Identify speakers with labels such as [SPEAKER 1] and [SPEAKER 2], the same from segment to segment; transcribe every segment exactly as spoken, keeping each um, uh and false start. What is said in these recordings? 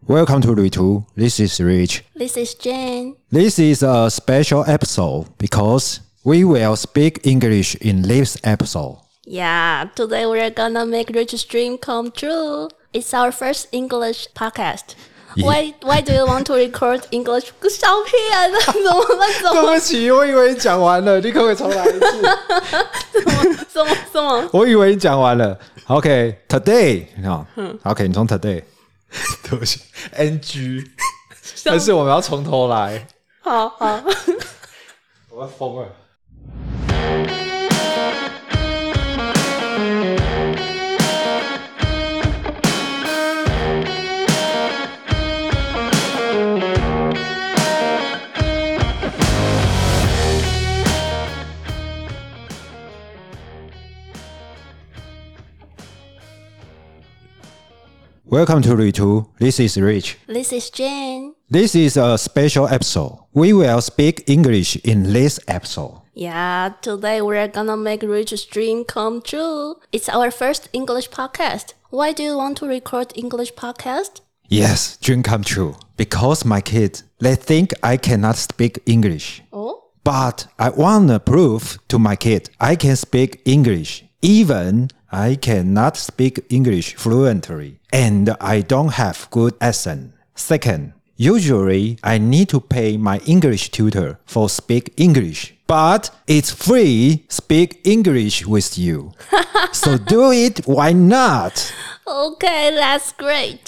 [SPEAKER 1] Welcome to Ruitu. This is Rich.
[SPEAKER 2] This is Jane.
[SPEAKER 1] This is a special episode because we will speak English in this episode.
[SPEAKER 2] Yeah, today we're gonna make Rich's dream come true. It's our first English podcast.
[SPEAKER 1] Yeah.
[SPEAKER 2] Why Why do you want to record English? 小骗啊，怎么办？怎么？
[SPEAKER 1] 对不起，我以为你讲完了，你可不可以重来一次？
[SPEAKER 2] 什么什么？
[SPEAKER 1] 我以为你讲完了。OK, today， 好、嗯、，OK， 你从 today， 对不起 ，N G， 但是我们要从头来。
[SPEAKER 2] 好好，
[SPEAKER 1] 我要疯了。Welcome to Ruitu. This is Rich.
[SPEAKER 2] This is Jane.
[SPEAKER 1] This is a special episode. We will speak English in this episode.
[SPEAKER 2] Yeah, today we're gonna make Rich's dream come true. It's our first English podcast. Why do you want to record English podcast?
[SPEAKER 1] Yes, dream come true. Because my kids, they think I cannot speak English.
[SPEAKER 2] Oh?
[SPEAKER 1] But I want to prove to my kid I can speak English. Even I cannot speak English fluently. And I don't have good accent. Second, usually I need to pay my English tutor for speak English. But it's free speak English with you. So do it, why not?
[SPEAKER 2] Okay, that's great.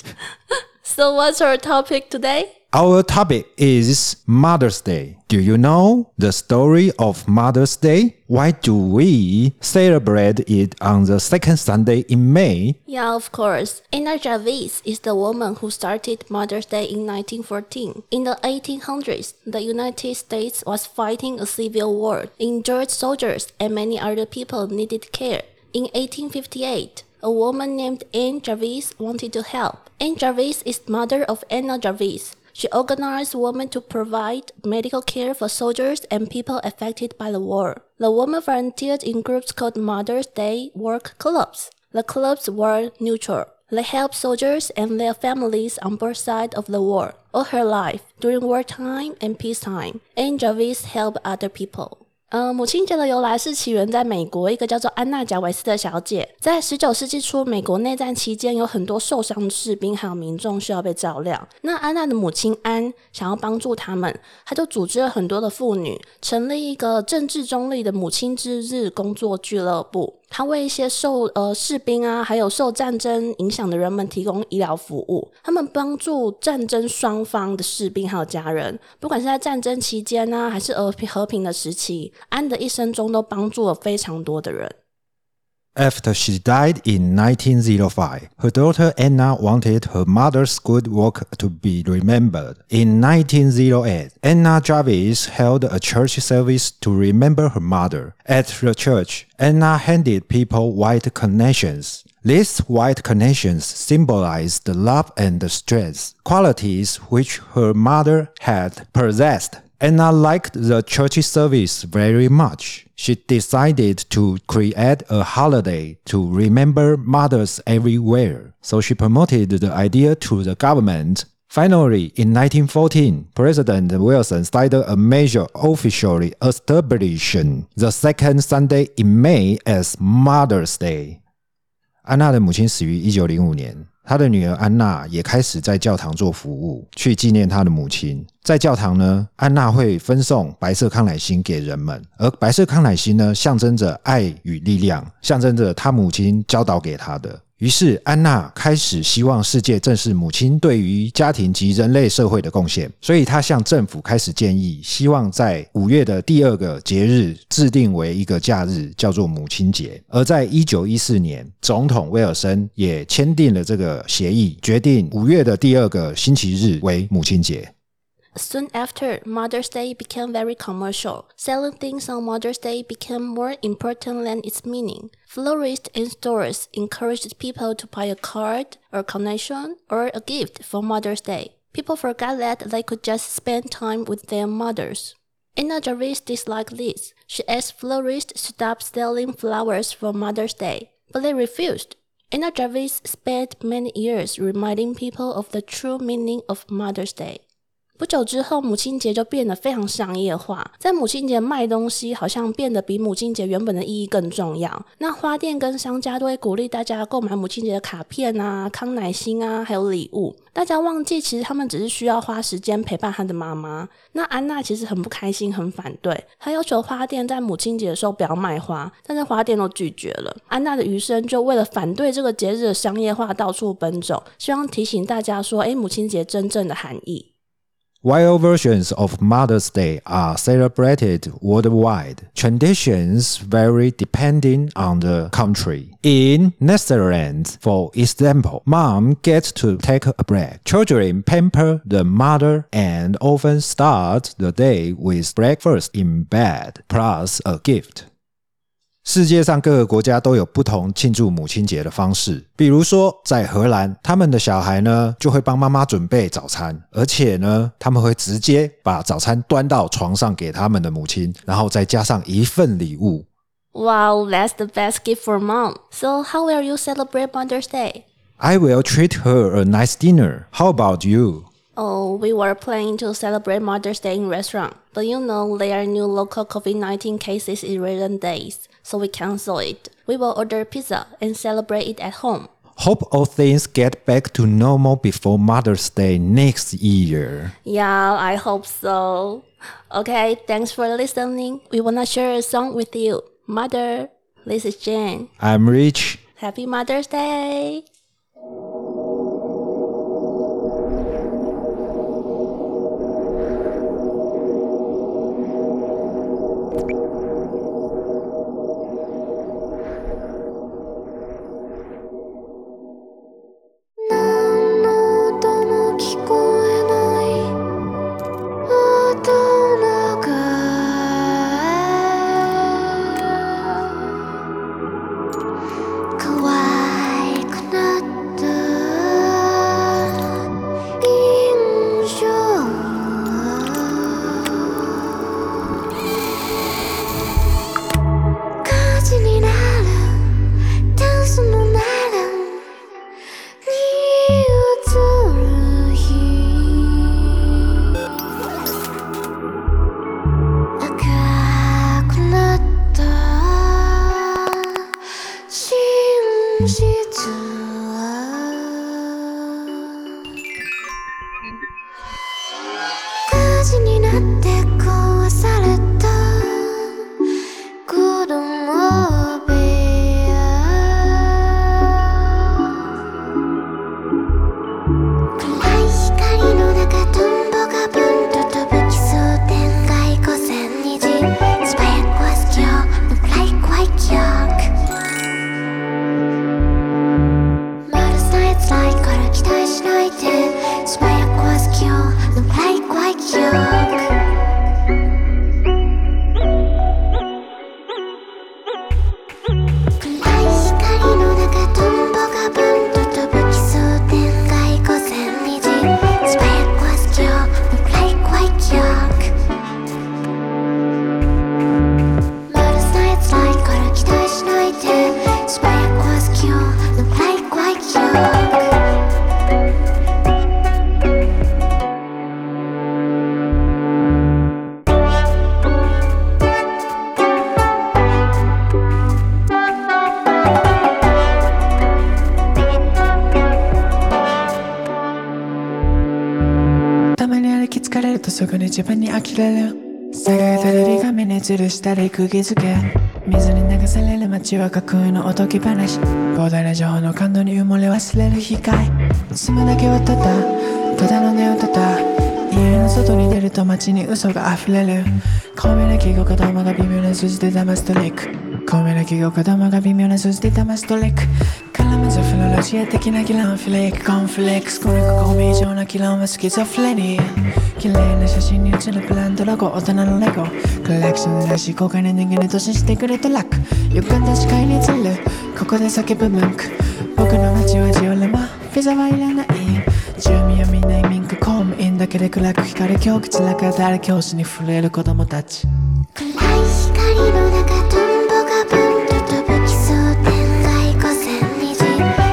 [SPEAKER 2] So what's our topic today?
[SPEAKER 1] Our topic is Mother's Day. Do you know the story of Mother's Day? Why do we celebrate it on the second Sunday in May?
[SPEAKER 2] Yeah, of course. Anna Jarvis is the woman who started Mother's Day in nineteen fourteen. In the eighteen hundreds, the United States was fighting a civil war. Injured soldiers and many other people needed care. In eighteen fifty-eight, a woman named Anne Jarvis wanted to help. Anne Jarvis is mother of Anna Jarvis. She organized women to provide medical care for soldiers and people affected by the war. The women volunteered in groups called Mother's Day Work Clubs. The clubs were neutral. They helped soldiers and their families on both sides of the war. All her life, during wartime and peacetime, Anne Jarvis helped other people. 呃，母亲节的由来是起源在美国一个叫做安娜贾维斯的小姐。在十九世纪初，美国内战期间，有很多受伤的士兵还有民众需要被照料。那安娜的母亲安想要帮助他们，她就组织了很多的妇女，成立一个政治中立的母亲之日工作俱乐部。他为一些受呃士兵啊，还有受战争影响的人们提供医疗服务。他们帮助战争双方的士兵还有家人，不管是在战争期间啊，还是和平的时期，安的一生中都帮助了非常多的人。
[SPEAKER 1] After she died in nineteen oh five, her daughter Anna wanted her mother's good work to be remembered. In nineteen oh eight, Anna Jarvis held a church service to remember her mother. At the church, Anna handed people white carnations. These white carnations symbolized the love and the strength, qualities which her mother had possessed. Anna liked the church service very much. She decided to create a holiday to remember mothers everywhere. So she promoted the idea to the government. Finally, in nineteen fourteen, President Wilson started a measure officially establishing the second Sunday in May as Mother's Day. 安娜的母亲死于一九零五年。他的女儿安娜也开始在教堂做服务，去纪念他的母亲。在教堂呢，安娜会分送白色康乃馨给人们，而白色康乃馨呢，象征着爱与力量，象征着他母亲教导给他的。于是安娜开始希望世界正视母亲对于家庭及人类社会的贡献，所以她向政府开始建议，希望在五月的第二个节日制定为一个假日，叫做母亲节。而在一九一四年，总统威尔森也签订了这个协议，决定五月的第二个星期日为母亲节。
[SPEAKER 2] Soon after, Mother's Day became very commercial. Selling things on Mother's Day became more important than its meaning. Florists and stores encouraged people to buy a card, or carnation, or a gift for Mother's Day. People forgot that they could just spend time with their mothers. Anna Jarvis disliked this. She asked florists to stop selling flowers for Mother's Day, but they refused. Anna Jarvis spent many years reminding people of the true meaning of Mother's Day.不久之后，母亲节就变得非常商业化，在母亲节卖东西好像变得比母亲节原本的意义更重要。那花店跟商家都会鼓励大家购买母亲节的卡片啊、康乃馨啊，还有礼物。大家忘记其实他们只是需要花时间陪伴他的妈妈。那安娜其实很不开心，很反对，她要求花店在母亲节的时候不要卖花，但是花店都拒绝了。安娜的余生就为了反对这个节日的商业化到处奔走，希望提醒大家说，诶，母亲节真正的含义。
[SPEAKER 1] While versions of Mother's Day are celebrated worldwide, traditions vary depending on the country. In Netherlands, for example, mom gets to take a break. Children pamper the mother and often start the day with breakfast in bed, plus a gift.世界上各个国家都有不同庆祝母亲节的方式，比如说在荷兰，他们的小孩呢就会帮妈妈准备早餐，而且呢他们会直接把早餐端到床上给他们的母亲，然后再加上一份礼物。
[SPEAKER 2] Wow, that's the best gift for mom. So how will you celebrate Mother's Day?
[SPEAKER 1] I will treat her a nice dinner. How about you?Oh,
[SPEAKER 2] we were planning to celebrate Mother's Day in restaurant, but you know there are new local COVID nineteen cases in recent days, so we cancel it. We will order pizza and celebrate it at home.
[SPEAKER 1] Hope all things get back to normal before Mother's Day next year.
[SPEAKER 2] Yeah, I hope so. Okay, thanks for listening. We wanna share a song with you. Mother, this is Jane.
[SPEAKER 1] I'm Rich.
[SPEAKER 2] Happy Mother's Day!
[SPEAKER 3] 疲れるとすぐに自分に呆れる。下がるテレビ画面に吊るしたり釘付け、水に流される街は架空のおとぎ話。膨大な情報の感動に埋もれ忘れる光。住むだけはただただの寝をただ、家の外に出ると街に嘘が溢れる。巧妙な記号子供が微妙な数字で騙すトリック。巧妙な記号子供が微妙な数字で騙すトリック。絡めずフロロジア的な議論フレークコンフレックス。これがゴミ以上な議論はスキゾフレニー。綺麗な写真に写るブランドロゴ、大人のレゴコレクションらしい公開の人間に投資してくれたラック。歪んだ視界に映るここで叫ぶ文句。僕の街はジオレマ、フィザはいらない。住民はみんな移民か公務員だけで暗く光る教口中誰教師に触れる子供たち。
[SPEAKER 4] 暗い光の中トンボがブンと飛ぶ奇想天外五千虹。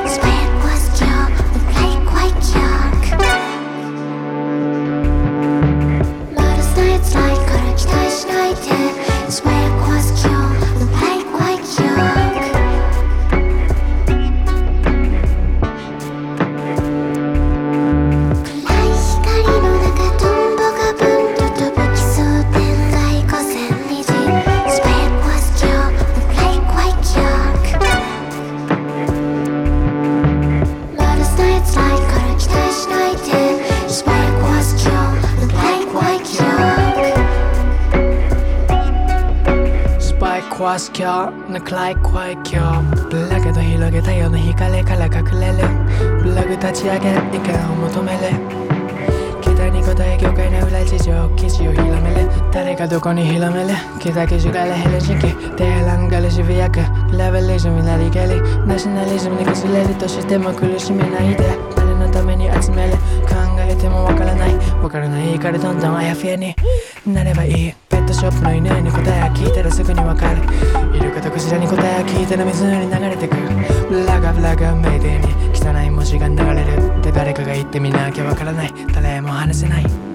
[SPEAKER 3] 過す今日の暗い怖い今日ブラケット広げ太陽の光から隠れるブログ立ち上げ意見を求める期待に応え業界の裏事情記事を広める誰がどこに広める期待記事からヘルシンキテヘランガルシビアクレベリズムになりけりナショナリズムに崩れるとしても苦しめないで誰のために集める考えてもわからないわからないからどんどんあやふやになればいいペットショップの犬に答えを聞いたらすぐにわかるイルカとクジラに答えを聞いたら湖に流れてくブラガブラガメイデーに汚い文字が流れるって誰かが言ってみなきゃわからない誰も話せない